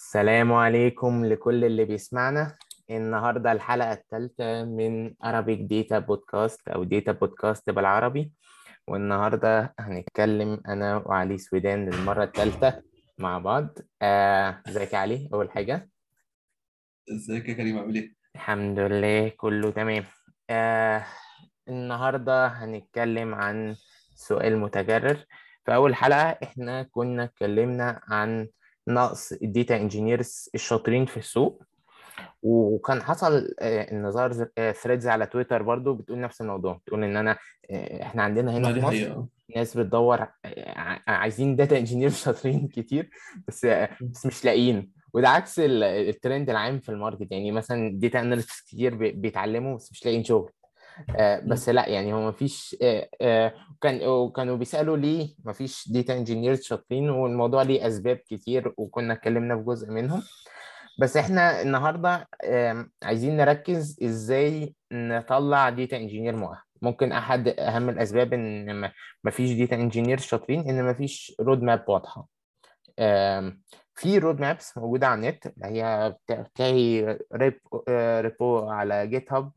السلام عليكم لكل اللي بيسمعنا. النهاردة الحلقة الثالثة من Arabic Data Podcast أو Data Podcast بالعربي. والنهاردة هنتكلم أنا وعلي سويدان للمرة الثالثة مع بعض. ازيك يا علي؟ أول حاجة ازيك يا كريم عامل ايه؟ الحمد لله كله تمام. آه النهاردة هنتكلم عن سؤال متكرر. في أول حلقة إحنا كنا اتكلمنا عن نقص الديتا انجينيرز الشاطرين في السوق، وكان حصل ان ظهر ثريدز على تويتر برضو بتقول نفس الموضوع، بتقول ان انا احنا عندنا هنا ما في دي مصر حقيقة. ناس بتدور، عايزين داتا انجينير شاطرين كتير، بس بس مش لاقيين. وده عكس الترند العام في الماركت. يعني مثلا داتا اناليست كتير بيتعلموا بس مش لاقيين شغل. بس مم. لا، يعني هو مفيش. وكانوا بيسألوا ليه مفيش داتا انجينيرز شاطرين، والموضوع ليه اسباب كتير وكنا اتكلمنا في جزء منهم. بس احنا النهارده عايزين نركز ازاي نطلع ديتا انجينير مؤهل. ممكن احد اهم الاسباب ان ما فيش ديتا انجينير شاطرين ان ما فيش رود ماب واضحه. في رود مابس موجوده على النت، اللي هي بتلاقي ريبو على جيت هاب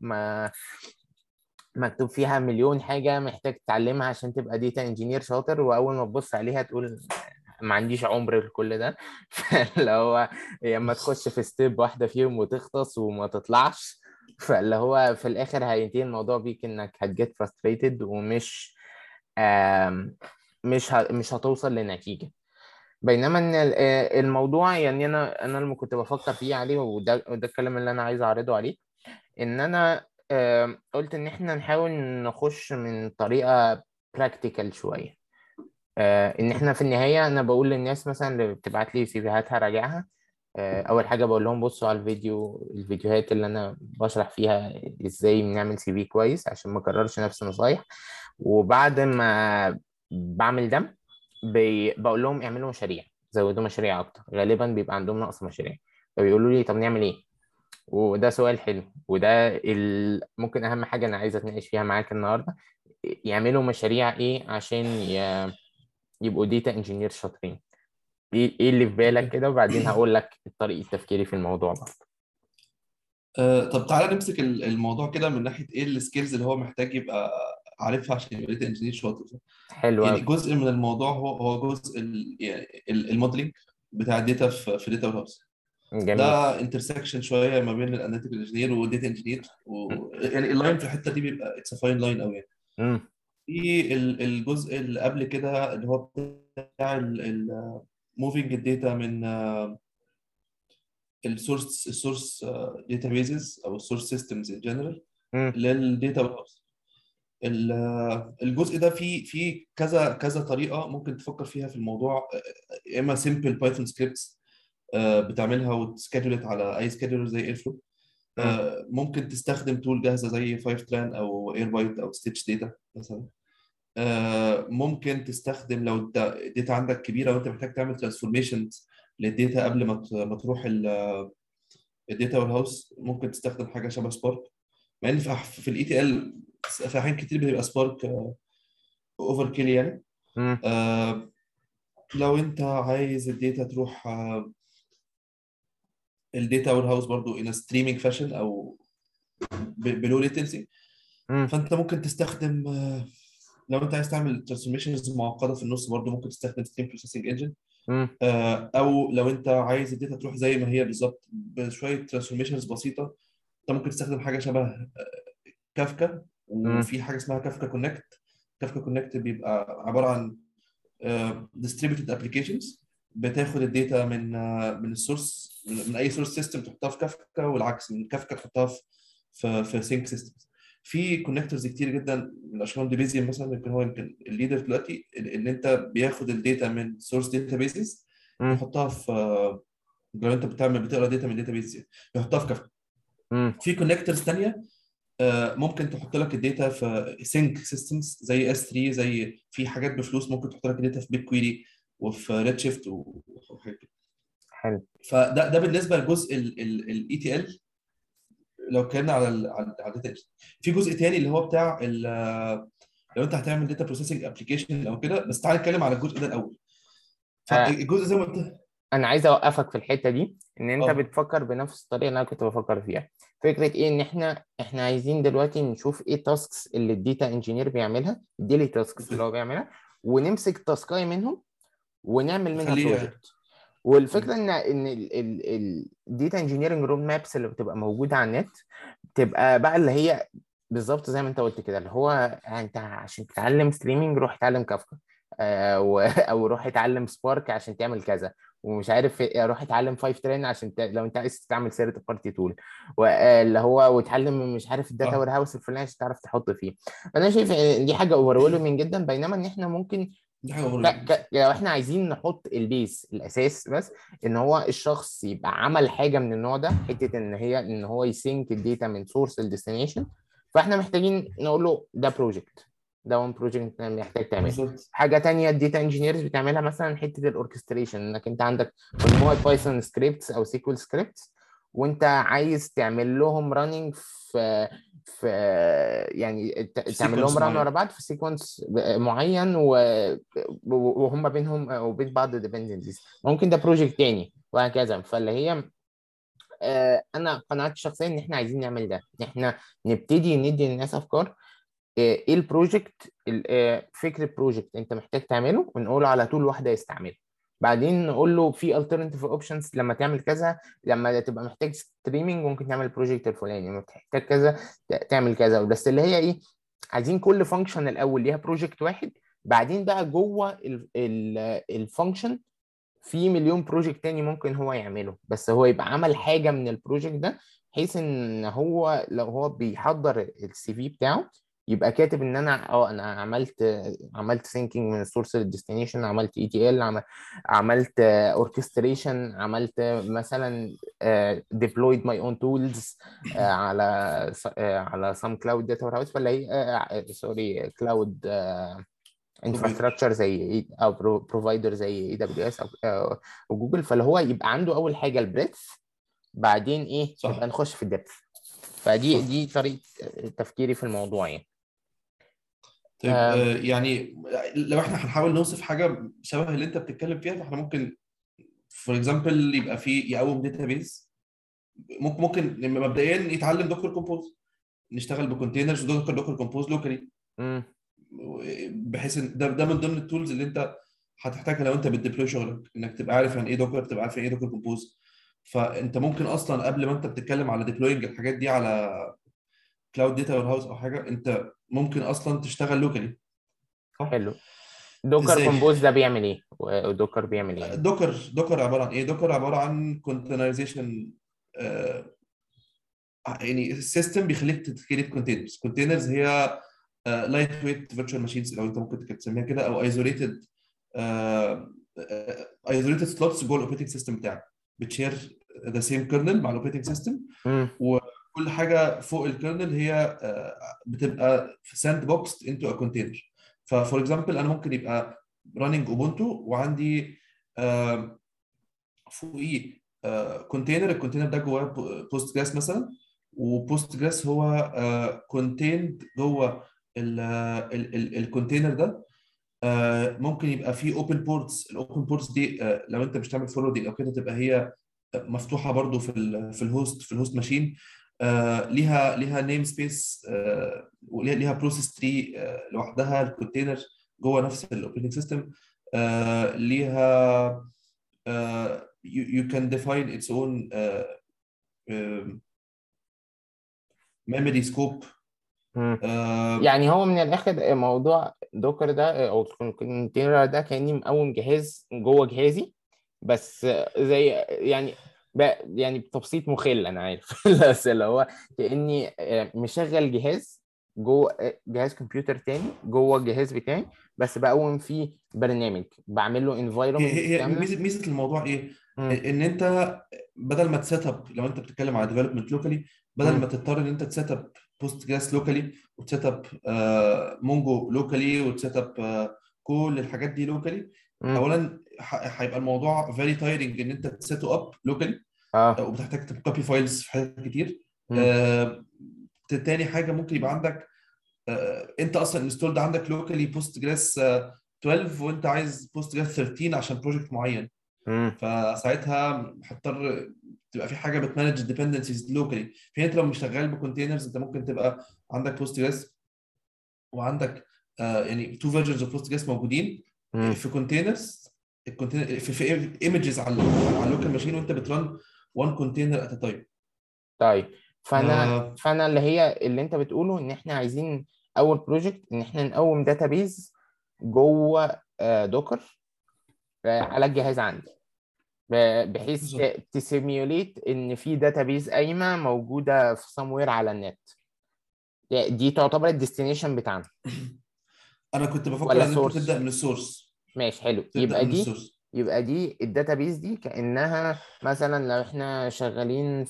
مكتوب فيها مليون حاجه محتاج تتعلمها عشان تبقى ديتا انجينير شاطر، واول ما تبص عليها تقول ما عنديش عمر لكل ده. فاللي هو يا اما تخش في ستيب واحده فيهم وتغطس وما تطلعش، فاللي هو في الاخر هينتهي الموضوع بيك انك هتجيت frustrated ومش آم، مش هتوصل لنتيجه. بينما ان الموضوع، يعني انا لما كنت بفكر فيه عليه، وده الكلام اللي انا عايز اعرضه عليه، ان انا قلت ان احنا نحاول نخش من طريقه براكتيكال شويه. ان احنا في النهايه انا بقول للناس مثلا اللي بتبعت لي سيفيهات هراجعها. اول حاجه بقول لهم بصوا على الفيديوهات اللي انا بشرح فيها ازاي بنعمل سي في كويس عشان ما اكررش نفس النصايح. وبعد ما بعمل ده بقول لهم اعملوا مشاريع، زودوا مشاريع اكتر. غالبا بيبقى عندهم نقص مشاريع، فبيقولوا لي طب نعمل ايه. وده سؤال حلو، وده ممكن اهم حاجه انا عايز اتناقش فيها معاك النهارده. يعملوا مشاريع ايه عشان يبقوا ديتا انجينير شاطرين؟ إيه اللي في بالك اوكي. كده، وبعدين هقول لك طريقة تفكيري في الموضوع برضه. طب تعالى نمسك الموضوع كده من ناحية ايه السكيلز اللي هو محتاج يبقى عارفها عشان يبقى داتا انجينير شاطر. حلو يعني قوي. جزء من الموضوع هو جزء يعني الموديلنج بتاع الداتا في داتا هاوس. جميل. ده انترسكشن شويه ما بين الاناليتيكال انجينير والداتا انجينير يعني اللاين في الحته دي بيبقى اتس فاين لاين قوي يعني. امم. في الجزء اللي قبل كده اللي هو بتاع موفينج الداتا من السورس داتابيزز او السورس سيستمز ان جنرال امم. للداتا هاوس. الجزء ده فيه كذا كذا طريقه ممكن تفكر فيها في الموضوع. يا اما سمبل بايثون سكريبتس بتعملها وتسكادولت على اي سكادولر زي ايرفلو. امم. ممكن تستخدم تول جاهزه زي 5 تران او ايربايت او ستيتش داتا مثلا. ممكن تستخدم لو الداتا عندك كبيره وانت محتاج تعمل ترانسفورميشن للداتا قبل ما تروح الداتا وير هاوس، ممكن تستخدم حاجه شبه سبارك. مع ان في الاي تي ال في احيان كتير بتبقى سبارك اوفر كيل يعني. امم. آه، لو انت عايز الداتا تروح الداتا وير هاوس برضو ان ستريمينج فاشن او بلو ليتنسي، امم. فانت ممكن تستخدم لو انت عايز تعمل ترانسفورميشنز معقده في النص برضو ممكن تستخدم ستريم بروسيسنج انجن. امم. او لو انت عايز الداتا تروح زي ما هي بالظبط بشويه ترانسفورميشنز بسيطه، انت ممكن تستخدم حاجه شبه كافكا. امم. وفي حاجه اسمها كافكا كونكت. كافكا كونكت بيبقى عباره عن distributed applications بتاخد الداتا من السورس، من اي سورس سيستم تحطها في كافكا، والعكس من كافكا تحطها في سينك سيستمز. في كونكتورز كتير جدا من اشهرهم ديبيزيوم مثلا، يمكن الليدر دلوقتي ان انت بياخد الداتا من سورس داتا بيزز امم. يحطها في لو انت بتقرا داتا من داتا بيز يحطها في كافكا. امم. في كونكتورز تانية ممكن تحط لك الداتا في سينك سيستمز زي اس 3، زي في حاجات بفلوس ممكن تحط لك الداتا في بيت كويري وفي ريد شيفت وحاجات كده. حلو. فده بالنسبه لجزء الاي تي ال. لو اتكلمنا على الداتا، في جزء تاني اللي هو بتاع لو انت هتعمل داتا بروسيسنج ابلكيشن او كده. بس تعال نتكلم على الجزء ده الاول. آه فالجزء زي ما قلت. انا عايز اوقفك في الحته دي، ان انت اه بتفكر بنفس الطريقه اللي انا كنت بفكر فيها. فكره ايه؟ ان احنا عايزين دلوقتي نشوف ايه التاسكس اللي الداتا انجينير بيعملها، الديلي تاسكس اللي هو بيعملها، ونمسك تاسكاي منهم ونعمل منها خليه. بروجكت. والفكره ان الداتا انجينيرنج رود مابس اللي بتبقى موجوده على النت تبقى بقى اللي هي بالظبط زي ما انت قلت كده، اللي هو انت عشان تتعلم ستريمينج روح اتعلم كافكا، او روح اتعلم سبارك عشان تعمل كذا، ومش عارف روح اتعلم 5 ترين عشان لو انت عايز تعمل سيرت بارتي تول، واللي هو وتعلم مش عارف الداتا وير صح، هاوس الفلاني عشان تعرف تحط فيه. انا شايف إن دي حاجه اوفر جدا، بينما ان احنا ممكن دي حاجه مهمه جدا. لو احنا عايزين نحط البيس الاساس بس، ان هو الشخص يبقى عمل حاجه من النوع ده، حته ان هو يسينك الداتا من سورس لديستنيشن. فاحنا محتاجين نقول له ده بروجكت، ده وان بروجكت محتاج تعمله. بالظبط. حاجه تانية الداتا انجينيرز بتعملها مثلا حته الاوركستريشن، انك انت عندك مجموعه بايثون سكريبتس او سيكوال سكريبتس، وانت عايز تعمل لهم راننج في يعني في تعمل لهم سيكونس ران ورا معين. بعض في سيكونس معين، وهم بينهم وبين بعض ديبندنسيز، ممكن ده بروجكت تاني وهكذا. فاللي هي انا قناعتي الشخصيه ان احنا عايزين نعمل ده، ان احنا نبتدي ندي للناس افكار ايه البروجكت، فكره بروجكت انت محتاج تعمله، ونقول على طول واحده يستعمله. بعدين نقول له في alternative options لما تعمل كذا، لما تبقى محتاج ستريمينج ممكن تعمل البروجكت الفلاني، لما تحتاج كذا تعمل كذا. بس اللي هي ايه، عايزين كل فانكشن الاول ليها بروجكت واحد، بعدين بقى جوه الفانكشن في مليون بروجكت تاني ممكن هو يعمله، بس هو يبقى عمل حاجة من البروجكت ده، بحيث ان هو لو هو بيحضر السي في بتاعه يبقى كاتب ان انا عملت ثينكينج من السورس للديستنيشن، عملت اي تي ال، عملت اوركستريشن، عملت مثلا deployed my own tools على some cloud data warehouse، فلا هي سوري كلاود بروفايدر. انفراستراكشر زي او بروفايدر زي اي دبليو اس او جوجل. فاللي هو يبقى عنده اول حاجه البريث، بعدين ايه نبقى صح نخش في الدبث. فدي صح. دي طريقه تفكيري في الموضوع يعني. طيب يعني لو احنا هنحاول نوصف حاجه شبه اللي انت بتتكلم فيها، فاحنا ممكن فور اكزامبل يبقى في يقوم داتابيز. ممكن مبدئيا يتعلم دوكر كومبوز، نشتغل بكونتينرز دوكر كومبوز لوكالي، امم بحيث ان ده من ضمن التولز اللي انت هتحتاجها لو انت بتديبلوي شغلك، انك تبقى عارف يعني ايه دوكر، تبقى عارف يعني ايه دوكر كومبوز. فانت ممكن اصلا قبل ما انت بتتكلم على ديبلوينج الحاجات دي على كلاود داتا وير هاوس او حاجه، انت ممكن اصلا تشتغل لوكالي. صح. حلو. دوكر ازاي؟ كومبوز ده بيعمل ايه، ودوكر بيعمل ايه يعني؟ دوكر عباره عن ايه؟ دوكر عباره عن كونتينرايزيشن، يعني السيستم بيخليك تكريت كونتينرز هي لايت ويت فيرتشوال ماشينز، لو انت ممكن تسميها كده، او ايزوليتد سلوتس جوه الاوبريتنج سيستم بتاعك، بتشير ذا سيم كيرنل مع الاوبريتنج سيستم، امم وكل حاجه فوق الكيرنل هي بتبقى في ساند بوكس انتو ا كونتينر. ففور اكزامبل انا ممكن يبقى راننج اوبونتو، وعندي فوقيه كونتينر، الكونتينر ده جواه بوست جراس مثلا، وبوست جراس هو كونتيند جوه الكونتينر ده. ممكن يبقى فيه اوبن بورتس، الاوبن بورتس دي لو انت مش تعمل فورwarding او كده تبقى هي مفتوحه برضو في الهوست ماشين. ليها نيم سبيس، وليها بروسيس تري لوحدها، الكونتينر جوه نفس الاوبريتنج سيستم. ليها you can define its own memory scope. امم آه، يعني هو من الاخر موضوع دوكر ده او الكونتينر ده كاني مقوم جهاز جوه جهازي، بس زي يعني بتبسيط مخل انا عارف بس اللي هو كاني مشغل جهاز جوه جهاز كمبيوتر تاني جوه الجهاز بتاعي، بس بقوم فيه برنامج بعمل له هي انفايرمنت هي هي كامله. ميزه الموضوع ايه؟ امم ان انت بدل ما تسيت اب، لو انت بتتكلم على ديفلوبمنت لوكالي، بدل امم ما تضطر ان انت تسيت اب بوست جراس لوكالي، وتسيت اب مونجو لوكالي، وتسيت اب كل الحاجات دي لوكالي. امم اولا هيبقى الموضوع فيري تايرنج ان انت تسيته اب لوكالي، اه وبتحتاج تكوبي فايلز في حاجات كتير. امم آه، تاني حاجه ممكن يبقى عندك انت اصلا انستولد عندك لوكالي بوست جراس 12، وانت عايز بوست جراس 13 عشان بروجكت معين. امم. فساعتها هتضطر تبقى في حاجه بتمانج الديبندنسيز لوكالي. في حين انت لو مش شغال بكونتينرز، انت ممكن تبقى عندك بوست جريس وعندك يعني تو فيرجنز اوف بوست جريس موجودين امم. في كونتينرز. الكونتينر في ايمجز على اللوكال ماشين، وانت بترن وان كونتينر ات تايم. طيب، فانا اللي انت بتقوله ان احنا عايزين اول بروجكت ان احنا نقوم داتابيز جوه دوكر على الجهاز عندي، بحيث بالظبط. تسيميوليت ان في داتابيز قايمه موجوده في سموير على النت. دي تعتبر الديستنيشن بتاعنا انا كنت ولا بفكر ان انت تبدا سورس؟ من السورس. ماشي، حلو. تبدا من السورس. يبقى دي الداتابيز دي كأنها مثلا لو احنا شغالين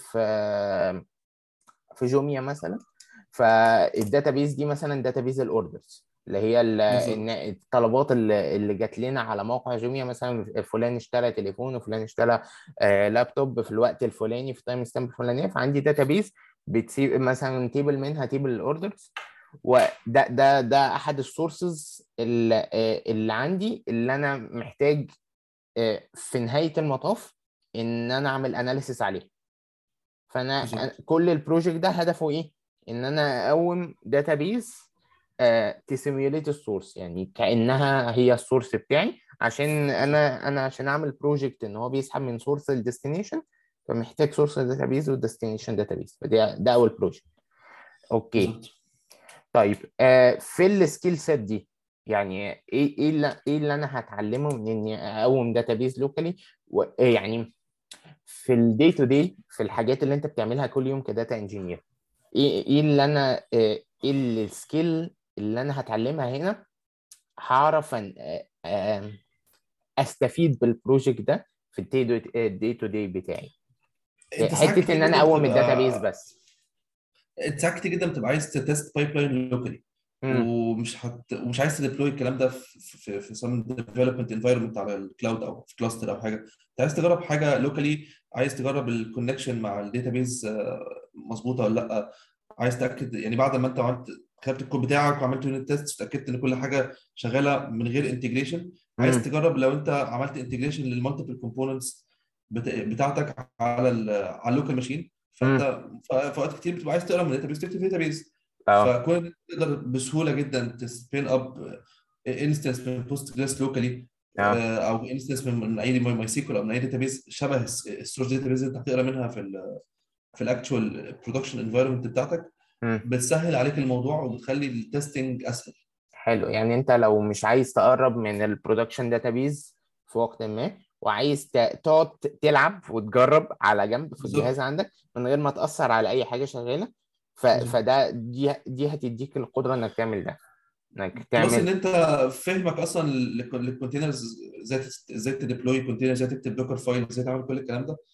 في جوميا مثلا، فالداتابيز دي مثلا داتابيز الاوردرز اللي هي بالظبط. الطلبات اللي جات لنا على موقع جوميا، مثلا فلان اشترى تليفون وفلان اشترى لابتوب في الوقت الفلاني في التايم ستامب الفلانيه، فعندي داتابيز بتسيب مثلا تيبل منها تيبل الاوردرز. وده احد السورسز اللي عندي اللي انا محتاج في نهايه المطاف ان انا اعمل اناليسيس عليه. بالظبط. كل البروجكت ده هدفه ايه؟ ان انا اقوم داتابيز تسيميوليت السورس، يعني كانها هي السورس بتاعي، عشان بالظبط. انا عشان اعمل بروجكت ان هو بيسحب من سورس للديستنيشن، فمحتاج سورس داتابيز وديستنيشن داتابيز. ده اول بروجكت. اوكي. بالظبط. طيب، في السكيل سيت دي، يعني ايه اللي انا هتعلمه من اني اقوم داتابيز لوكالي؟ يعني في الدي تو دي، في الحاجات اللي انت بتعملها كل يوم كداتا انجينير، ايه اللي انا ايه السكيل اللي انا هتعلمها هنا، هعرف ان استفيد بالبروجكت ده في الدي تو دي بتاعي، انت ساعات حته كتير ان انا جدا اقوم بتبقى الداتابيز بس. انت ساعات كتير جدا بتبقى عايز تتست بايب لاين لوكالي، امم. ومش عايز تديبلوي الكلام ده في سم ديفلوبمنت انفايرمنت على الكلاود او في كلاستر او حاجه. انت عايز تجرب حاجه لوكالي، عايز تجرب الكونكشن مع الداتابيز مظبوطه ولا لا. عايز تاكد يعني بعد ما انت عملت كتبت الكود بتاعك وعملت يونت تيست وتاكدت ان كل حاجه شغاله من غير انتجريشن، عايز امم. تجرب لو انت عملت انتجريشن للمالتيبل كومبوننتس بتاعتك على اللوكال ماشين. فانت امم. في اوقات كتير بتبقى عايز تقرا من الداتابيز تكتب في داتابيز. اه. فكون إن أنت تقدر بسهوله جدا تسبين اب انستنس من بوست جريس لوكالي، اه. او انستنس من اي ماي سيكول او من اي داتابيز شبه السورس داتابيز اللي انت هتقرا منها في الاكتشوال برودكشن انفايرمنت بتاعتك، امم. بتسهل عليك الموضوع وبتخلي التستنج اسهل. حلو، يعني انت لو مش عايز تقرب من البرودكشن داتابيز في وقت ما، وعايز تقعد تلعب وتجرب على جنب في الجهاز بالظبط. عندك من غير ما تأثر على اي حاجة شغالة، بالظبط. دي هتديك القدرة انك تعمل ده، انك بلس ان تعمل. انت فهمك اصلا للكونتينرز، ازاي تديبلوي كونتينر، ازاي تكتب دوكر فايل، ازاي تعمل كل الكلام ده،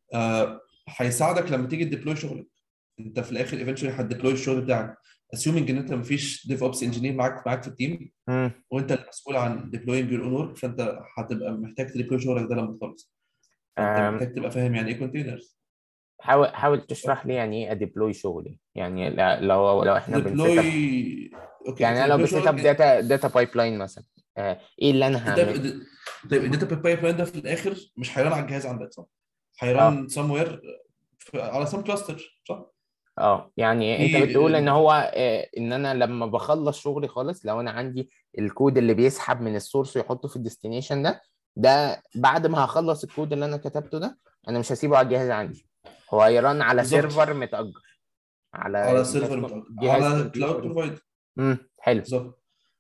هيساعدك لما تيجي تديبلوي شغلك. انت في الاخر ايفنشولي هتديبلوي الشغل بتاعك، اسيومنج ان انت مفيش ديف اوبس انجينير معاك في التيم، مم. وانت المسؤول عن ديبلوينج يور اون ورك، فانت هتبقى محتاج تديبلوي شغلك ده لما تخلص. فانت آم، محتاج تبقى فاهم يعني ايه كونتينرز. حاول تشرح لي يعني ايه اديبلوي شغلي، يعني لو احنا بنسيت اب، تديبلوي، اوكي، يعني انا لو تديبلوي بسيت اب شغلك. داتا بايب لاين مثلا، ايه اللي انا انت هعمل؟ طيب الداتا بايب لاين ده في الاخر مش هيران على الجهاز عندك، صح؟ اه. هيران سم وير على سم كلاستر، صح؟ اه، يعني انت بتقول ان في هو ان انا لما بخلص شغلي خالص، لو انا عندي الكود اللي بيسحب من السورس ويحطه في الديستنيشن ده بعد ما هخلص الكود اللي انا كتبته ده، انا مش هسيبه على الجهاز عندي، هو هيران على بالظبط سيرفر متأجر على على سيرفر جهاز على كلاود كمبيوتر. بروفايدر. حلو. بالظبط.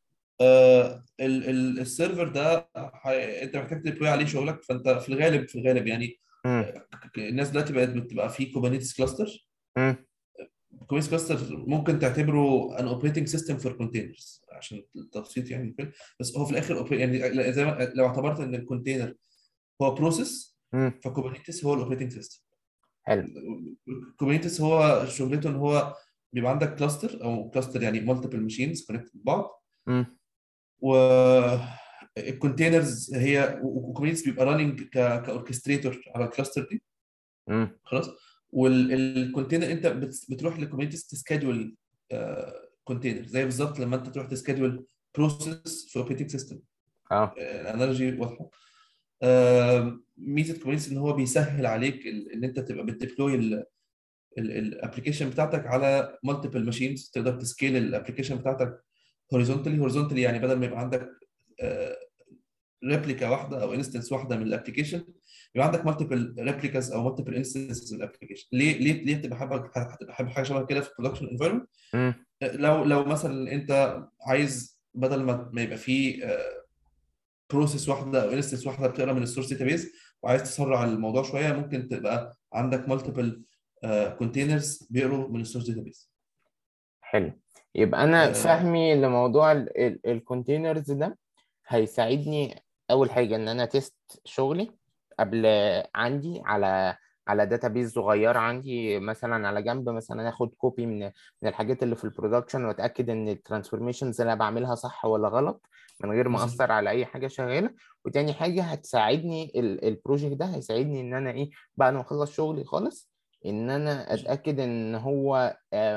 السيرفر ده انت محتاج تديبلوي عليه شغلك. فانت في الغالب يعني امم. الناس دلوقتي بقت بتبقى في كوبرنيتس كلاستر. امم. كوبرنيتس كلاستر ممكن تعتبره ان اوبريتنج سيستم فور كونتينرز عشان التبسيط يعني. بس هو في الاخر يعني زي ما لو اعتبرت ان الكونتينر هو بروسيس، امم. فكوبرنيتس هو الاوبريتنج سيستم. حلو. كوبرنيتس هو شغلته ان هو بيبقى عندك كلاستر او كلاستر يعني مالتيبل ماشينز كونكتد ببعض، امم. والكونتينرز هي وكوبرنيتس بيبقى راننج كاوركستريتور على الكلاستر دي. امم. خلاص. والكونتينر انت بتروح لكوبرنيتس تسكادول كونتينر، زي بالظبط لما انت تروح تسكادول بروسيس في اوبريتنج سيستم. اه. الانالوجي واضحه. ميزه كوبرنيتس ان هو بيسهل عليك ان انت تبقى بتديبلوي الابلكيشن بتاعتك على مالتيبل ماشينز. تقدر تسكيل الابلكيشن بتاعتك هوريزونتالي يعني بدل ما يبقى عندك ريبليكا واحده او انستنس واحده من الابلكيشن، يبقى عندك مالتيبل ريبليكاز او مالتيبل انستنسز من الابلكيشن. ليه تبقى حابب حاجه شبه كده في البرودكشن انفايرمنت؟ مم. لو مثلا انت عايز بدل ما يبقى فيه بروسيس واحده او انستنس واحده بتقرا من السورس داتابيز، وعايز تسرع الموضوع شويه، ممكن تبقى عندك مالتيبل كونتينرز بيقروا من السورس داتابيز. حلو. يبقى انا فهمي لموضوع الكونتينرز ده هيساعدني اول حاجه ان انا تيست شغلي قبل عندي على داتابيز صغيره عندي مثلا على جنب، مثلا اخد كوبي من الحاجات اللي في البرودكشن واتاكد ان الترانسفورميشنز اللي انا بعملها صح ولا غلط من غير ما بالظبط. اثر على اي حاجه شغاله. وتاني حاجه هتساعدني البروجكت ده هيساعدني ان انا ايه بعد ما اخلص شغلي خالص ان انا اتاكد ان هو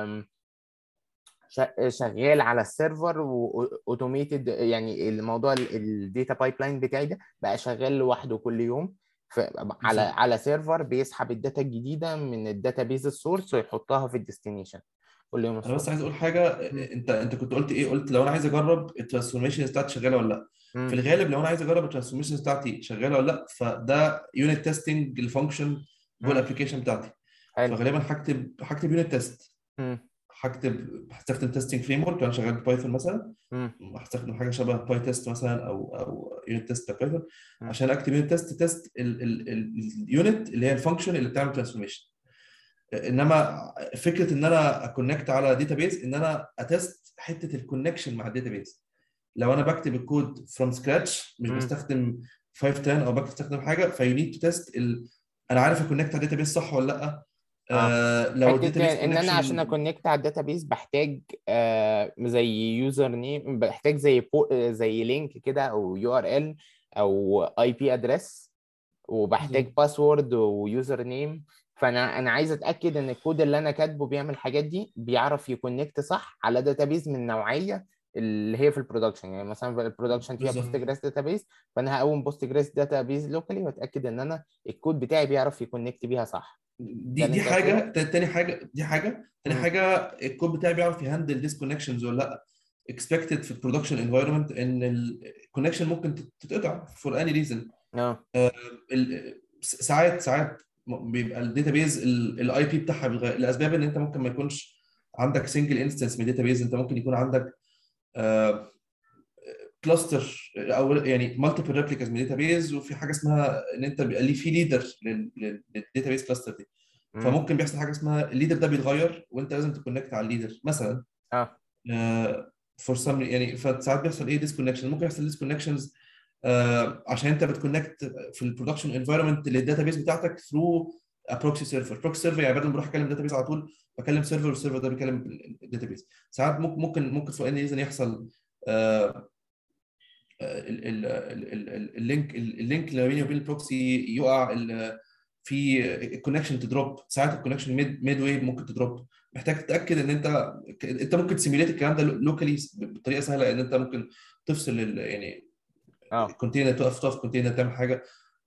شغال على السيرفر واوتوميتد، يعني الموضوع الداتا بايب لاين بتاعي ده بقى شغال لوحده كل يوم على بالظبط. سيرفر بيسحب الداتا الجديده من الداتا بيز السورس ويحطها في الديستنيشن كل يوم انا بس الصبح. عايز اقول حاجه. مم. انت كنت قلت ايه؟ قلت لو انا عايز اجرب الترانسفورميشن بتاعتي شغاله ولا لا. في مم. الغالب لو انا عايز اجرب الترانسفورميشن بتاعتي شغاله ولا لا، فده يونت تيستنج الفانكشن جوه مم. الابلكيشن بتاعتي. حلو. فغالبا هكتب يونت تيست. مم. هستخدم تيستنج فريم ورك. انا شغال ببايثون مثلا، مم. هستخدم حاجه شبه باي تيست مثلا او يونت تيست بايثون مم. عشان اكتب يونت تيست اليونت اللي هي الفانكشن اللي بتعمل ترانسفورميشن. انما فكره ان انا اكونكت على داتابيز، ان انا اتست حته الكونكشن مع الداتابيز. لو انا بكتب الكود فروم سكراتش مش مم. بستخدم 510 او بستخدم حاجه، فيو نيد تو تيست انا عارف اكونكت على الداتابيز صح ولا لا. اه، لو الداتابيز حته ان انا عشان كونكشن. اكونكت على الداتابيز بحتاج زي يوزر نيم، بحتاج زي لينك كده او يو ار ال او اي بي ادريس، وبحتاج بالظبط. باسورد ويوزر نيم. فانا عايز اتاكد ان الكود اللي انا كاتبه بيعمل الحاجات دي، بيعرف يكونكت صح على داتابيز من النوعيه اللي هي في البرودكشن. يعني مثلا في البرودكشن فيها بوست بالظبط. جريس داتابيز، فانا هقوم بوست جريس داتابيز لوكالي واتاكد ان انا الكود بتاعي بيعرف يكونكت بيها صح. ده اللي دي انت هتقوله. حاجه. تاني حاجه الكود بتاعي بيعرف يهندل ديسكونكشنز ولا لا. اكسبكتد في البرودكشن انفايرمنت ان الكونكشن ممكن تتقطع فور اني ريزن. اه. ساعات بيبقى الداتابيز الاي بي بتاعها بيتغير لاسباب ان انت ممكن ما يكونش عندك سنجل انستنس من الداتابيز. انت ممكن يكون عندك كلاستر او يعني مالتيبل ريبليكاز من الداتابيز، وفي حاجه اسمها ان انت بيبقى ليه في ليدر للداتابيز كلاستر دي. امم. فممكن بيحصل حاجه اسمها الليدر ده بيتغير وانت لازم تكونكت على الليدر مثلا. اه. فور سم يعني فساعات بيحصل ايه ديسكونكشن. ممكن يحصل ديسكونكشنز عشان انت بتكونكت في البرودكشن انفايرمنت للداتابيز بتاعتك ثرو بروكسي سيرفر. بروكسي سيرفر يعني بدل ما اروح اكلم داتابيز على طول بكلم سيرفر، والسيرفر ده بيكلم الداتابيز. ساعات ممكن في اني ريزن يحصل اللينك اللي بيني وبين البروكسي يقع، في الكونكشن تدروب. ساعات الكونكشن ميد واي ممكن تدروب. محتاج تتاكد ان انت ممكن تسيميليت الكلام ده لوكالي بطريقه سهله. ان انت ممكن تفصل يعني اه. الكونتينر، تقف كونتينر تعمل حاجه.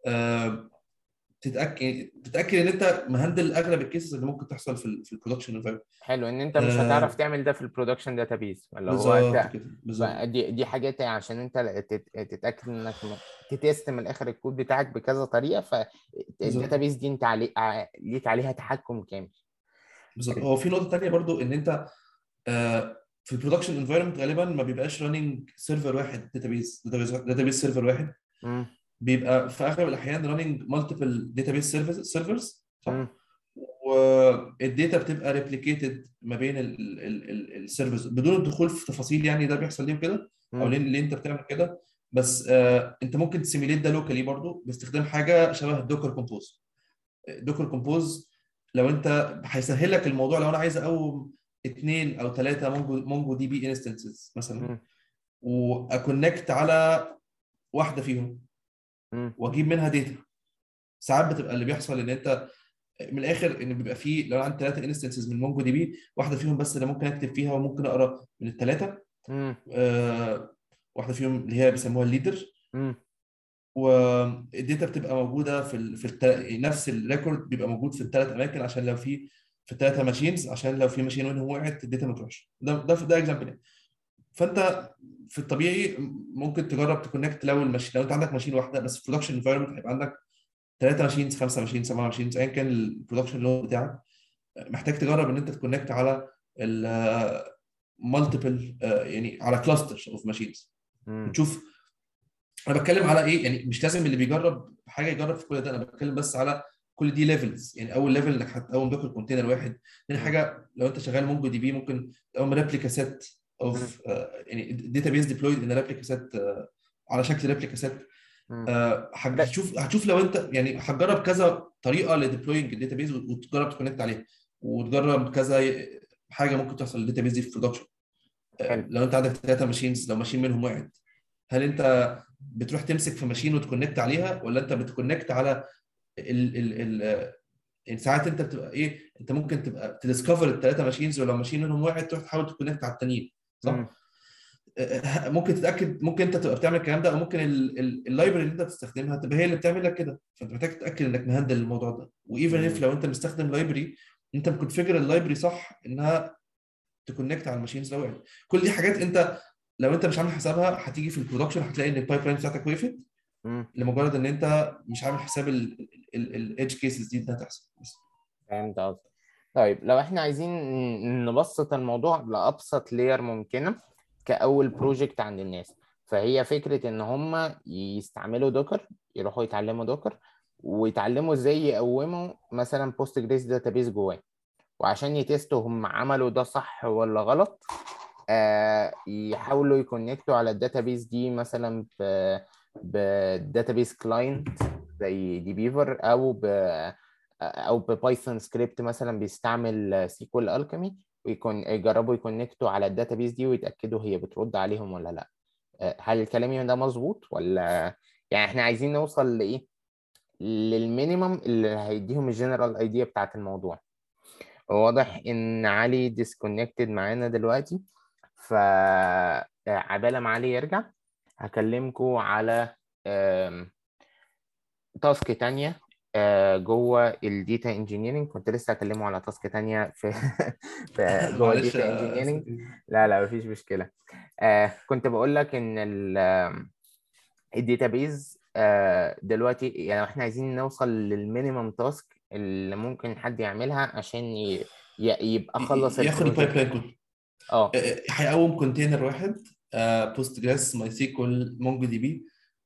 تتاكد ان انت مهندل اغلب الكيسز اللي ممكن تحصل في البرودكشن انفايرمنت. حلو ان انت مش هتعرف تعمل ده في البرودكشن داتابيز اللي هو بالظبط انت. كده بالظبط. فدي حاجات يعني عشان انت تتاكد انك تتست من الاخر الكود بتاعك بكذا طريقه، بالظبط. فالداتابيز دي انت ليك عليها تحكم كامل. بالظبط. حلو. هو في نقطه تانيه برضو ان انت في البرودكشن انفايرمنت غالبا ما بيبقاش راننج سيرفر واحد داتابيز سيرفر واحد. امم. بيبقى في اغلب الاحيان راننج مالتيبل داتابيز سيرفرز امم. صح. والداتا بتبقى ريبليكيتد ما بين السيرفرز بدون الدخول في تفاصيل يعني ده بيحصل ليه كده او ليه انت بتعمل كده. بس انت ممكن تسيميليت ده لوكالي برضو باستخدام حاجه شبه الدوكر كومبوز. دوكر كومبوز لو انت هيسهل لك الموضوع. لو انا عايز اقوم اثنين او ثلاثه مونجو دي بي انستنسز مثلا، امم. واكونكت على واحده فيهم امم. واجيب منها داتا. ساعات بتبقى اللي بيحصل ان انت من الاخر ان بيبقى فيه لو عندي ثلاثه انستنسز من مونجو دي بي، واحده فيهم بس اللي ممكن اكتب فيها وممكن اقرا من الثلاثه. امم. واحده فيهم اللي هي بيسموها الليدر. امم. والداتا بتبقى موجوده نفس الريكورد بيبقى موجود في الثلاث اماكن، عشان لو في الثلاثه ماشينز، عشان لو في ماشين منهم وقعت الداتا ما تروحش. ده اكزامبل. فانت في الطبيعي ممكن تجرب تكونكت لو لو انت عندك ماشين واحده بس، في برودكشن انفايرمنت هيبقى عندك 3 ماشينز، 5 ماشينز، 7 ماشينز، ايا كان البرودكشن لود بتاعك. محتاج تجرب ان انت تكونكت على المالتيبل، يعني على كلاسترز اوف ماشينز، وتشوف. انا بتكلم على ايه يعني، مش لازم اللي بيجرب حاجه يجرب في كل ده، انا بتكلم بس على كل دي ليفلز. يعني اول ليفل انك هتقوم دوكر كونتينر واحد. تاني حاجه لو انت شغال مونجو دي بي ممكن تقوم ريبليكا سيت اوف، يعني داتا بيز ديبلويد ان ريبليكا سيت، على شكل ريبليكا سيت. هتشوف لو انت يعني هتجرب كذا طريقه لديبلوينج الداتا بيز، وتجرب تكونكت عليها، وتجرب كذا حاجه ممكن تحصل للداتا بيز دي في برودكشن. حلو. لو انت عندك 3 ماشينز، لو ماشين منهم وقعت، هل انت بتروح تمسك في ماشين وتكونكت عليها، ولا انت بتكونكت على ال ال ال يعني ساعات انت بتبقى ايه، انت ممكن تبقى تديسكفر ال3 ماشينز، ولو ماشين منهم وقعت تروح تحاول تكونكت على التانيين، صح؟ ممكن تتاكد، ممكن انت تبقى بتعمل الكلام ده، او ممكن اللايبرري اللي انت بتستخدمها تبقى هي اللي بتعمل لك كده. فانت محتاج تتاكد انك مهندل الموضوع ده. وايفن اف لو انت مستخدم لايبرري، انت مكونفيجر اللايبرري صح انها تكونكت على الماشينز لو وقعت. كل دي حاجات انت لو انت مش عامل حسابها هتيجي في البرودكشن هتلاقي ان البايب لاين بتاعتك وقفت، لمجرد ان انت مش عامل حساب الايدج كيسز دي انها تحصل بس. فهمت قصدي. طيب لو احنا عايزين نبسط الموضوع لأبسط لير ممكنة كأول بروجكت عند الناس، فهي فكرة ان هم يستعملوا دوكر، يروحوا يتعلموا دوكر ويتعلموا ازاي يقوموا مثلا بوست جريس داتابيس جواه، وعشان يتستوا هم عملوا ده صح ولا غلط. يحاولوا يكونكتوا على الداتابيس دي مثلا بداتابيس كلاينت زي دي بيفر، او ببايثون سكريبت مثلا بيستعمل سيكوال الكيمي، يجربوا يكونكتوا على الداتابيس دي ويتاكدوا هي بترد عليهم ولا لا. هل كلامي ده مظبوط ولا؟ يعني احنا عايزين نوصل لايه، للمينيمم اللي هيديهم الجنرال ايديا بتاعت الموضوع. واضح ان علي ديسكونكتد معانا دلوقتي، فعبالة ما علي يرجع هكلمكم على تاسك تانية جوه الديتا انجينيرنج. كنت لسه هكلمه على تاسك تانية في جوه معلش الديتا يا انجينيرنج. أستاذ. لا لا مفيش مشكلة. كنت بقول لك ان الداتابيز دلوقتي، يعني احنا عايزين نوصل للمينيمم تاسك اللي ممكن حد يعملها عشان يبقى خلص ياخد البايب البروجكت. لاين كله. اه. هيقوم كونتينر واحد، بوست جريس، ماي سيكوال، مونجو دي بي،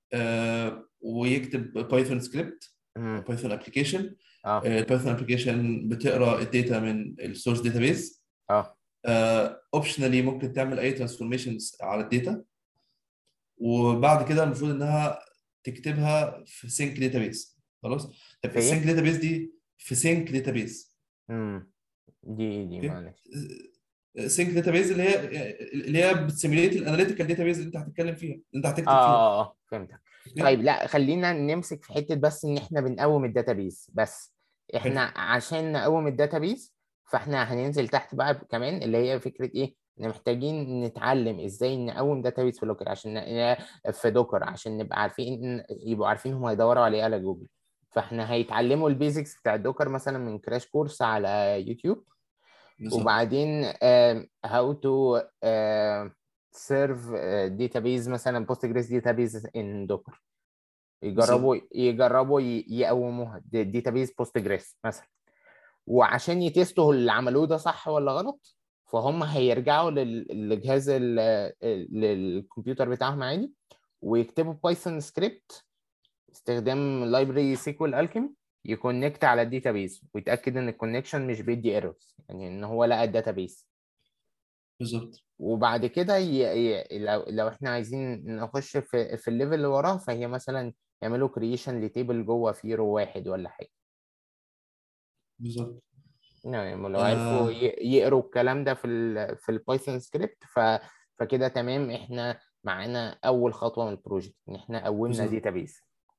ويكتب بايثون سكريبت، مم. بايثون ابلكيشن. اه. البايثون ابلكيشن بتقرا الداتا من السورس داتابيز. اه. اوبشنالي ممكن تعمل اي ترانسفورميشنز على الداتا، وبعد كده المفروض انها تكتبها في سينك داتابيز. خلاص. طب في السينك ايه؟ داتابيز دي في سينك داتابيز. مم. دي اوكي. معلش. سينك داتابيز اللي هي بتسيميليت الاناليتيكال داتابيز اللي انت هتتكلم فيها، اللي انت اه هتكتب فيها. اه فهمتك. اوكي. طيب لا خلينا نمسك في حتة بس ان احنا بنقوم الداتابيز بس. حلو. احنا عشان نقوم الداتابيز فاحنا هننزل تحت بقى كمان، اللي هي فكرة ايه، ان محتاجين نتعلم ازاي نقوم داتابيز في لوكر عشان في دوكر، عشان نبقى عارفين، يبقوا عارفين هم هيدوروا على ايه على جوجل. فاحنا هيتعلموا البيزكس بتاع الدوكر مثلا من كراش كورس على يوتيوب. بالظبط. وبعدين how to serve database مثلا Postgres database in Docker. بالظبط. يجربوا يقوموها database Postgres مثلا. وعشان يتستوا اللي عملوه ده صح ولا غلط، فهم هيرجعوا للجهاز للكمبيوتر بتاعهم عادي، ويكتبوا بايثون سكريبت استخدام لايبرري سيكوال الكيمي، يكونكت على الداتابيز ويتاكد ان الكونكشن مش بيدي ايرورز، يعني ان هو لقى الداتابيز. بالظبط. وبعد كده لو احنا عايزين نخش في الليفل اللي وراه، فهي مثلا يعملوا كرييشن لتيبل جوه فيه رو واحد ولا حاجه. بالظبط. يعني لو عرفوا آه يقروا الكلام ده في البايثون سكريبت، فكده تمام، احنا معانا اول خطوه من البروجكت ان احنا قومنا بالظبط. داتابيز.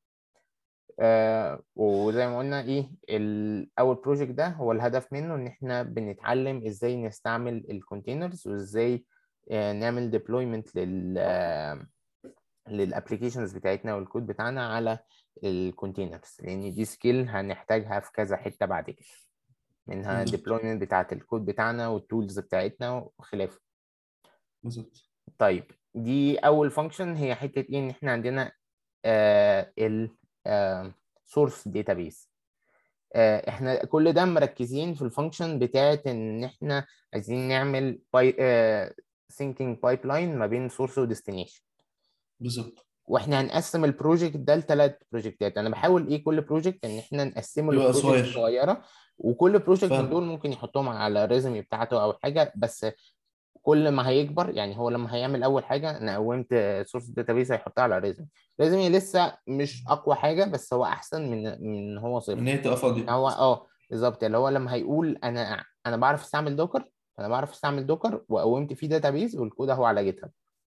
وزي ما قلنا ايه، اول بروجكت ده هو الهدف منه ان احنا بنتعلم ازاي نستعمل الكونتينرز، وازاي نعمل ديبلويمنت للابلكيشنز بتاعتنا والكود بتاعنا على الكونتينرز، لان دي سكيل هنحتاجها في كذا حته بعد كده، منها بالظبط. الديبلويمنت بتاعت الكود بتاعنا والتولز بتاعتنا وخلافه. بالظبط. طيب دي اول فانكشن، هي حته ايه، ان احنا عندنا ال سورس داتابيس. احنا كل ده مركزين في الفانكشن بتاعت ان احنا عايزين نعمل syncing بايب ما بين سورس وديستنيشن. بالظبط. واحنا هنقسم البروجكت ده لثلاث بروجكتات. انا بحاول ايه كل بروجكت ان احنا نقسمه يبقى لبروجكت صغير. صغيره، وكل بروجكت من دول فاهم. ممكن يحطهم على الريزومي بتاعته او حاجه. بس كل ما هيكبر، يعني هو لما هيعمل اول حاجه انا قومت سورس داتابيس هيحطها على ريزومي. ريزومي لسه مش اقوى حاجه، بس هو احسن من هو ان صفر. هي تبقى ان فاضيه. هو بالظبط، اللي هو لما هيقول انا بعرف استعمل دوكر، انا بعرف استعمل دوكر وقومت فيه داتابيس والكود اهو على جيت هاب.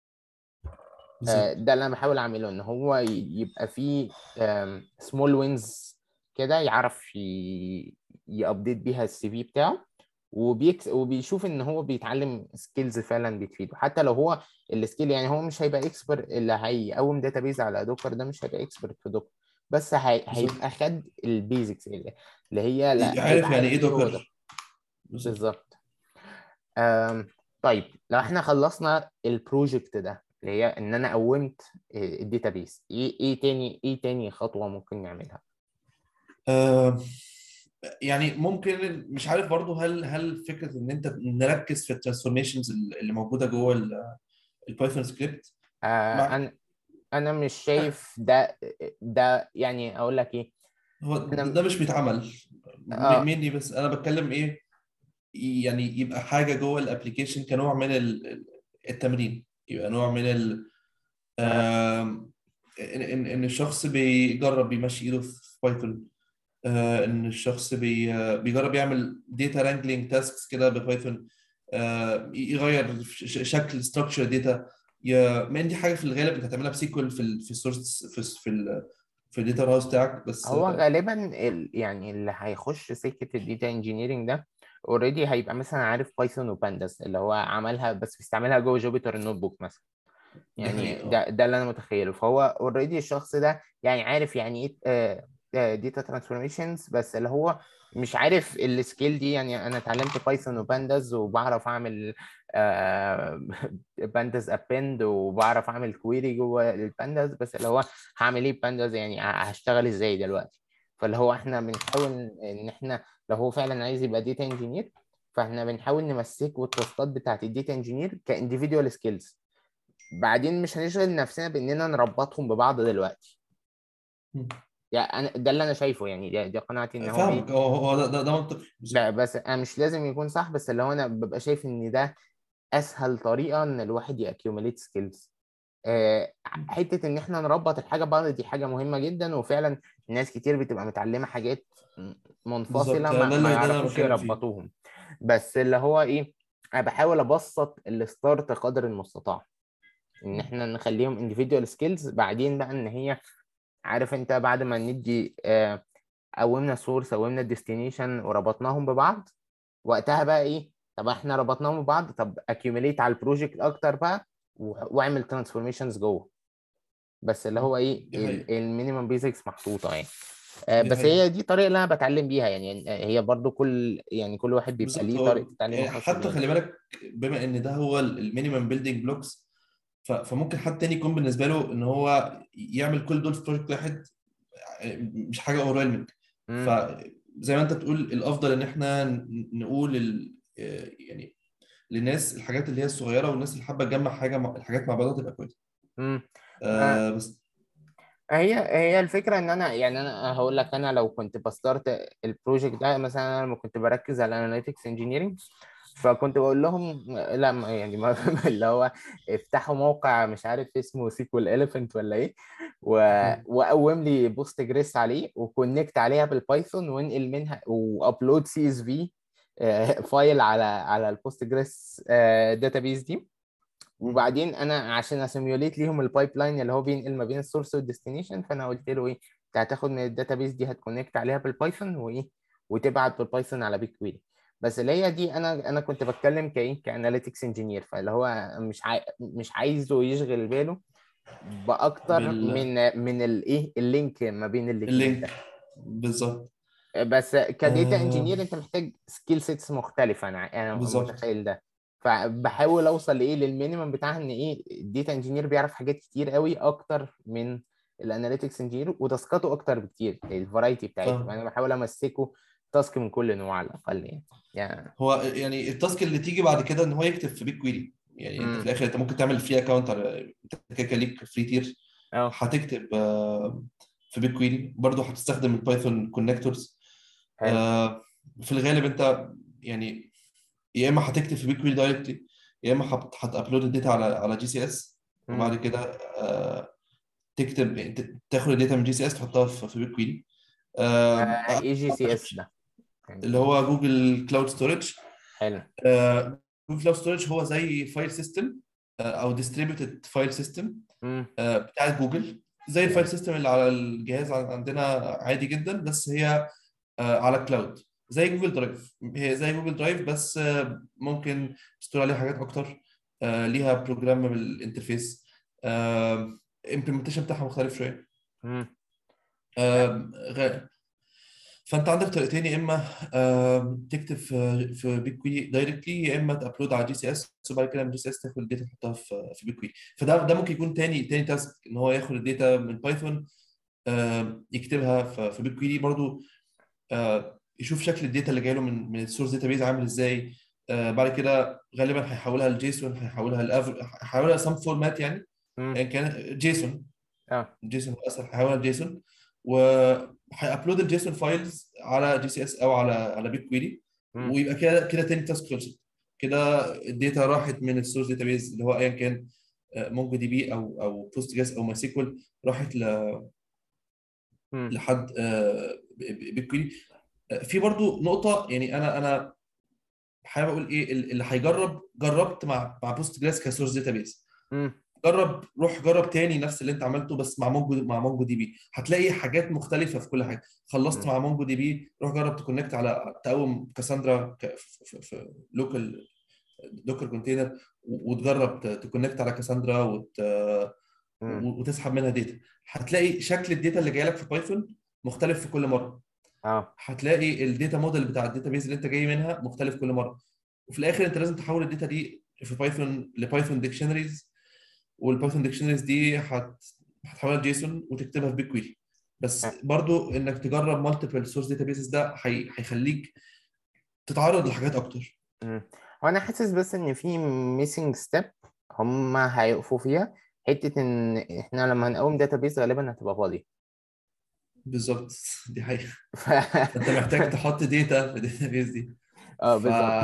بالظبط. ده اللي انا بحاول اعمله، ان هو يبقى فيه سمول وينز كده، يعرف يابديت بيها السي في بتاعه، وبيشوف ان هو بيتعلم سكيلز فعلا بتفيده. حتى لو هو السكيل، يعني هو مش هيبقى اكسبر، اللي هيقوم داتابيز على دوكر ده مش هيبقى اكسبرت في دوكر، بس بالظبط. هيبقى خد البيزكس اللي هي، لا هيبقى عارف يعني عارف ايه ايه هو ده. دوكر. بالظبط. بالظبط. أم، طيب لو احنا خلصنا البروجكت ده اللي هي ان انا قومت الداتابيس، ايه تاني خطوة ممكن نعملها؟ آه يعني ممكن، مش عارف برضو، هل فكره ان انت نركز في الترانسفورميشنز اللي موجوده جوه البايثون سكريبت مع. انا مش شايف ده يعني اقول لك ايه. هو ده انا مش بيتعمل اه مني، بس انا بتكلم ايه، يعني يبقى حاجه جوه الابلكيشن كنوع من التمرين، يبقى نوع من تمام. ان الشخص بيجرب بيمشي ايده في بايثون. ان الشخص بيجرب يعمل داتا رانجلينج تاسكس كده ببايثون. يغير شكل ستراكشر داتا. من دي حاجه في الغالب انت هتعملها بسيكول في السورس في الداتا هاوس بتاعك بس. هو غالبا يعني اللي هيخش سكة الديتا انجينيرنج ده اوريدي هيبقى مثلا عارف بايثون وبانداس، اللي هو عملها بس بيستعملها جوه جوبيتر النوت بوك مثلا. دي يعني حقيقه. ده اللي انا متخيله. فهو اوريدي الشخص ده يعني عارف يعني ايه داتا ترانسفورميشنز، بس اللي هو مش عارف السكيل دي. يعني انا اتعلمت بايثون وبانداز وبعرف اعمل بانداز ابند، وبعرف اعمل كويري جوه البانداز، بس اللي هو هعمل ايه بانداز، يعني هشتغل ازاي دلوقتي. فاللي هو احنا بنحاول ان احنا لو هو فعلا عايز يبقى داتا انجينير، فاحنا بنحاول نمسكه التاسكات بتاعت الداتا انجينير كانديفيدوال سكيلز. بعدين مش هنشغل نفسنا باننا نربطهم ببعض دلوقتي. يعني ده اللي انا شايفه، يعني دي قناعتي ان هو ايه. فاهمك. هو ده منطقي بالظبط. بس انا مش لازم يكون صح، بس اللي هو انا ببقى شايف ان ده اسهل طريقه ان الواحد يأكيوميليت سكيلز. حته ان احنا نربط الحاجه ببعض دي حاجه مهمه جدا، وفعلا ناس كتير بتبقى متعلمه حاجات بالظبط، منفصله، ده ما اللي انا يعرفوش بتكلم فيه. يربطوهم. بس اللي هو ايه، انا بحاول ابسط الستارت قدر المستطاع، ان احنا نخليهم individual skills. بعدين بقى ان هي، عارف انت، بعد ما ندي قومنا السورس قومنا الديستنيشن وربطناهم ببعض، وقتها بقى ايه، طب احنا ربطناهم ببعض، طب accumulate على البروجكت اكتر بقى، واعمل ترانسفورميشنز جوه. بس اللي هو ايه دي حقيقة. المينيمم بيزكس محطوطه يعني. دي بس حقيقة. هي دي الطريقه اللي انا بتعلم بيها. يعني هي برضو كل واحد بيبقى بالظبط. ليه طريقه هو التعليم يعني الخاصه حتى بيه. خلي بالك، بما ان ده هو المينيمم بيلدينج بلوكس، فممكن حد تاني يكون بالنسبه له ان هو يعمل كل دول في بروجكت واحد، مش حاجه اوفرwhelming. امم فزي ما انت بتقول، الافضل ان احنا نقول يعني للناس الحاجات اللي هي الصغيره، والناس اللي حابه تجمع الحاجات مع بعضها تبقى كويسه. امم بس. هي الفكرة ان انا، يعني انا هقول لك، انا لو كنت بستارت البروجكت ده مثلا، انا لما كنت بركز على اناليتكس انجينيرنج، فكنت بقول لهم لا يعني ما اللي هو افتحوا موقع مش عارف اسمه سيكوال اليفنت ولا ايه، وقوم لي بوست جريس عليه وكونكت عليها بالبايثون، وانقل منها وابلود سي اس في فايل على البوست جريس داتابيز دي. وبعدين انا عشان اسيميوليت ليهم البايب لاين اللي هو بينقل ما بين السورس والديستنيشن، فانا قلت له ايه، انت هتاخد من الداتابيس دي هتكونكت عليها بالبايثون وايه، وتبعت بالبايثون على بيج كويري. بس اللي هي دي انا كنت بتكلم كايه كاناليتكس انجينير، فاللي هو مش عايزه يشغل باله باكتر من الايه اللينك ما بين الاثنين باللينك ده. بالظبط. بس كديتا آه انجينير انت محتاج سكيل سيتس مختلفه، انا بالظبط. متخيل ده. فبحاول اوصل لايه للمينيمم بتاعها، ان ايه الديتا انجينير بيعرف حاجات كتير قوي اكتر من الاناليتكس انجينير، وتاسكاته اكتر بكتير، الفرايتي بتاعتهم، فاهم. انا بحاول امسكه تاسك من كل نوع على الاقل يعني. هو يعني التاسك اللي تيجي بعد كده ان هو يكتب في بيج كويري. يعني انت في امم الاخر انت ممكن تعمل فري اكونت على، انت كده كده ليك فري تير، اه هتكتب في بيج كويري برضه، هتستخدم البايثون كونكتورز. حلو. في الغالب انت يعني يا اما هتكتب في بيج كويري دايركتلي، يا اما هتابلود الداتا على جي سي اس، امم وبعد كده تكتب تاخد الداتا من جي سي اس تحطها في بيج كويري. اي جي سي اس ده اللي يعني؟ هو جوجل كلاود ستورج. حلو. جوجل كلاود ستورج هو زي فايل سيستم او ديستريبيوتد فايل سيستم امم بتاع جوجل، زي الفايل حلو. سيستم اللي على الجهاز عندنا عادي جدا، بس هي على كلاود زي جوجل درايف. هي زي جوجل درايف بس ممكن تستور عليها حاجات اكتر، ليها بروجرامبل انترفيس، امبلمنتيشن بتاعها مختلف شويه. امم آم، غ- فانت عندك طريقتين، يا اما تكتب في بيج كويري دايركتلي، يا اما تابلود على جي سي اس، وبعد كده من جي سي اس تاخد الداتا تحطها في بيج كويري. فده ممكن يكون تاني تاسك، ان هو ياخد الداتا من بايثون يكتبها في بيج كويري برضو، يشوف شكل الداتا اللي جاي له من السورس داتابيز عامل ازاي. بعد كده غالبا هيحولها لجيسون، هيحولها سم فورمات يعني، امم يعني كان جيسون. اه جيسون اسف، هيحولها لجيسون، وهيابلود الجيسون فايلز على جي سي اس او على بيج كويري، امم ويبقى كده تاني تاسك خلصت. كده الداتا راحت من السورس داتابيز اللي هو ايا كان، مونجو دي بي او بوست جريس او ماي سيكوال، راحت امم لحد بيج كويري. في برضو نقطة، يعني أنا حابب أقول إيه، اللي هيجرب، جربت مع بوست جريس كسورس داتابيز، امم روح جرب تاني نفس اللي أنت عملته بس مع مونجو دي بي، هتلاقي حاجات مختلفة في كل حاجة. خلصت مع مونجو دي بي، روح جرب تكونكت على تقوم كاساندرا في لوكال دوكر كونتينر، وتجرب تكونكت على كاساندرا امم وتسحب منها داتا. هتلاقي شكل الداتا اللي جاي لك في بايثون مختلف في كل مره. اه هتلاقي الداتا موديل بتاع الداتا بيز اللي انت جاي منها مختلف كل مره. وفي الاخر انت لازم تحول الداتا دي في بايثون لبايثون ديكشنريز، والبايثون ديكشنريز دي هتحولها لجيسون وتكتبها في بيج كويري. بس برضو انك تجرب مالتيبل سورس داتا بيزز ده هيخليك تتعرض لحاجات اكتر. مم. وانا حاسس بس ان في ميسنج ستيب هم هيقفوا فيها، حته ان احنا لما هنقوم داتابيز غالبا هتبقى فاضيه. بالظبط. دي حقيقة. ف... فانت محتاج تحط داتا في الداتا بيز دي. اه ف بالظبط.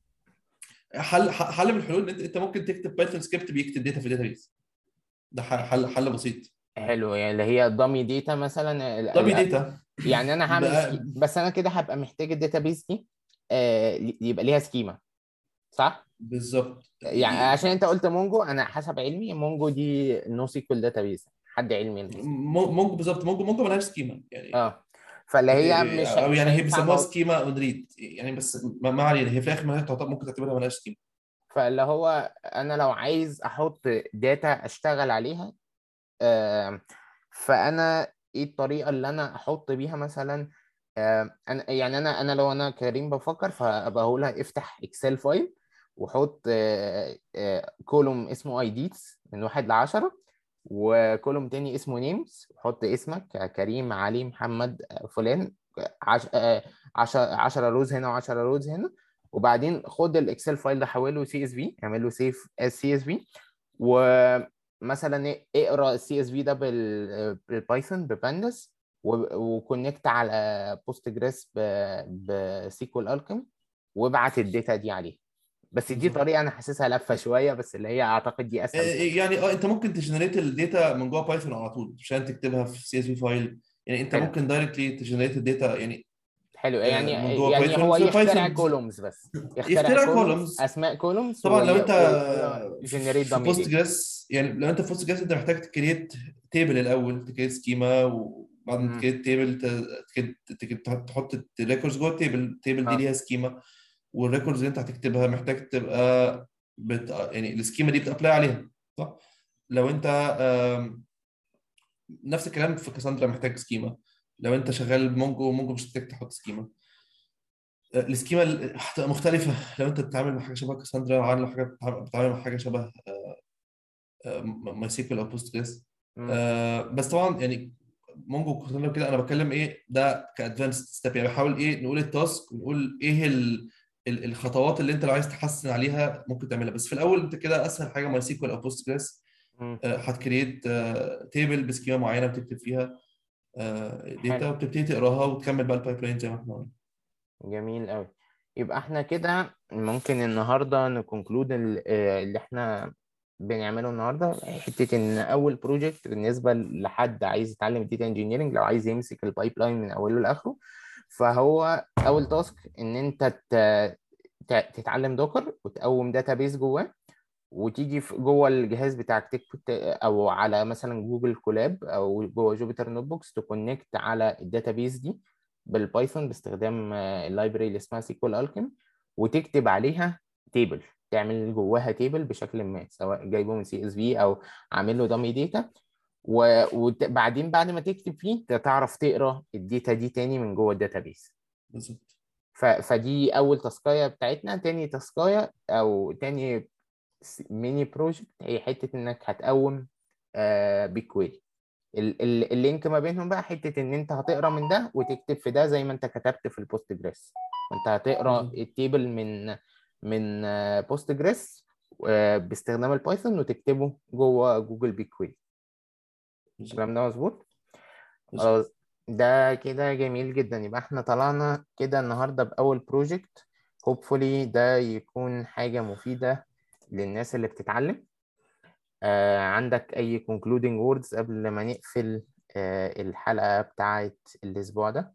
حل من الحلول ان انت ممكن تكتب بايثون سكريبت بيكتب داتا في الداتا بيز. ده حل بسيط. حلو، يعني اللي هي دامي داتا مثلا دامي داتا يعني انا هعمل بقى. بس انا كده هبقى محتاج الداتابيز دي يبقى ليها سكيما، صح؟ بالظبط. يعني عشان انت قلت مونجو، انا حسب علمي مونجو دي نو سيكوال داتابيز، حد علمي نو سيكوال. مونجو بالظبط، مونجو ملهاش سكيما يعني، اه فاللي هي مش او مش يعني هي هينفع بيسموها سكيما اون ريد يعني، بس ما علينا، هي في الاخر ممكن تعتبرها ملهاش سكيما. فاللي هو انا لو عايز احط داتا اشتغل عليها، آم، فانا ايه الطريقه اللي انا احط بيها مثلا؟ انا يعني انا لو انا كريم بفكر، فابقى هقول لها افتح اكسل فايل وحط كولوم اسمه ايديز من 1 ل 10، وكولوم تاني اسمه نيمز، وحط اسمك كريم علي محمد فلان، 10 روز هنا و10 روز هنا. وبعدين خد الاكسل فايل ده حوله سي اس في، اعمل له سيف اس سي اس في، ومثلا اقرا السي اس في ده بالبايثون ببانداس، وكونكت على بوست جريس بسيكوال الكيم، وابعت الداتا دي عليه. بس دي بالظبط. طريقه انا حاسسها لفه شويه، بس اللي هي اعتقد دي اسهل طريقه. يعني انت ممكن تجنريت الداتا من جوه بايثون على طول عشان تكتبها في سي اس في فايل. يعني انت حلو. ممكن دايركتلي تجنريت الداتا يعني حلو يعني من جوه يعني بايثون هو في يخترع بايثون. كولومز، بس يخترع يخترع كولومز كولومز. اسماء كولومز طبعا لو انت ويقول له جنريت في دامي بوست داتا. جريس، يعني لو انت في بوست جريس انت محتاج تكريت تيبل الاول، تكريت سكيما، وبعد ما تكريت تيبل تحط الريكوردز جوه التيبل دي اه ليها سكيما، والريكوردز اللي انت هتكتبها محتاج تبقى يعني السكيما دي بتابلاي عليها، صح؟ لو انت نفس الكلام في كاساندرا محتاج سكيما. لو انت شغال بمونجو، مونجو مش محتاج تحط سكيما. السكيما هتبقى مختلفة لو انت بتتعامل مع حاجة شبه كاساندرا عن لو حاجة بتتعامل مع حاجة شبه ماي سيكوال او بوست جريس. مم. بس طبعا يعني مونجو كاساندرا كده انا بتكلم ايه ده كادفانسد ستيب، يعني بحاول ايه نقول التاسك ونقول ايه الخطوات اللي انت لو عايز تحسن عليها ممكن تعملها. بس في الاول انت كده اسهل حاجه ماي سيكوال او بوست جريس. مم. هتكريت تيبل بسكيما معينه بتكتب فيها حلو. داتا، وبتبتدي تقراها وتكمل بقى البايب لاين زي ما احنا قلنا. جميل قوي. يبقى احنا كده ممكن النهارده نكونكلود اللي احنا بنعمله النهارده، حته ان اول بروجكت بالنسبه لحد عايز يتعلم الداتا انجينيرنج، لو عايز يمسك البايب لاين من اوله لاخره، فهو اول تاسك ان انت تتعلم دوكر وتقوم داتابيز جواه، وتيجي في جوه الجهاز بتاعك تكتب او على مثلا جوجل كولاب او جوه جوبيتر نوت بوكس تكونكت على الداتابيز دي بالبايثون باستخدام اللايبرري اللي اسمها سيكوال الكيم، وتكتب عليها تيبل، تعمل جواها تيبل بشكل ما، سواء جايبه من سي اس في او عامل له دامي داتا، وبعدين بعد ما تكتب فيه تعرف تقرا الداتا دي تاني من جوه الداتابيز. بالظبط. فدي اول تاسكايه بتاعتنا. تاني تاسكايه او تاني ميني بروجكت هي حته انك هتقوم بيكويري. اللينك ما بينهم بقى حته ان انت هتقرا من ده وتكتب في ده زي ما انت كتبت في البوست جريس، وانت هتقرا بالظبط. التيبل من بوست جريس باستخدام البايثون وتكتبه جوه جوجل بيكويري. بالظبط. الكلام ده مظبوط؟ بالظبط. خلاص، ده كده جميل جدا. يبقى احنا طلعنا كده النهارده بأول بروجكت. hopefully ده يكون حاجة مفيدة للناس اللي بتتعلم. عندك أي concluding words قبل ما نقفل الحلقة بتاعت الأسبوع ده؟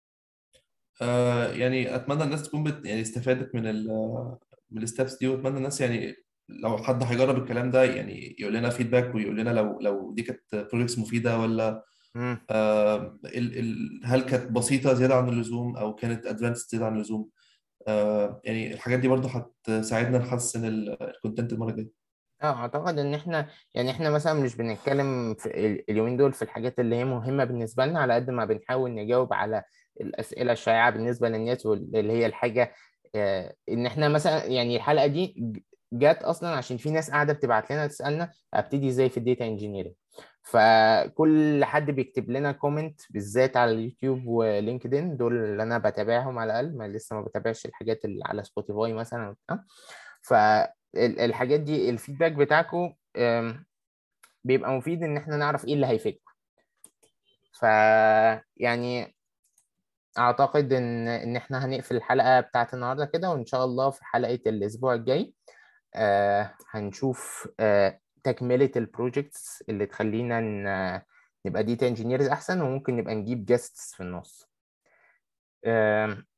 يعني اتمنى الناس تكون يعني استفادت من الستبس دي، واتمنى الناس يعني لو حد هيجرب الكلام ده يعني يقول لنا فيدباك ويقول لنا لو دي كانت بروجكتس مفيده ولا مم. هل كانت بسيطه زياده عن اللزوم او كانت ادفانسد زياده عن اللزوم. يعني الحاجات دي برضو هتساعدنا نحسن الكونتنت المره الجايه. اعتقد ان احنا يعني احنا مثلا مش بنتكلم في اليومين دول في الحاجات اللي هي مهمة بالنسبة لنا، على قد ما بنحاول نجاوب على الأسئلة الشائعة بالنسبة للناس، واللي هي الحاجة ان احنا مثلا يعني الحلقة دي جات اصلا عشان في ناس قاعدة بتبعت لنا تسألنا ابتدي ازاي في الديتا انجينيرنج. فكل حد بيكتب لنا كومنت بالذات على اليوتيوب ولينكدين، دول اللي انا بتابعهم على الاقل، ما لسه ما بتابعش الحاجات اللي على سبوتيفاي مثلا وبتاع. فالحاجات دي الفيدباك بتاعكم بيبقى مفيد ان احنا نعرف ايه اللي هيفيدكم. ف يعني اعتقد ان احنا هنقفل الحلقة بتاعت النهارده كده، وان شاء الله في حلقة الاسبوع الجاي هنشوف تكملة البروجيكتس اللي تخلينا نبقى ديتا انجينيرز احسن، وممكن نبقى نجيب جاستس في النص.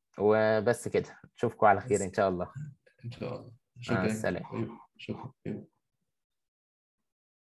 وبس كده، اشوفكم على خير بس ان شاء الله. ان شاء الله. مع شكرا. السلامة. أيوة. شكرا. أيوة.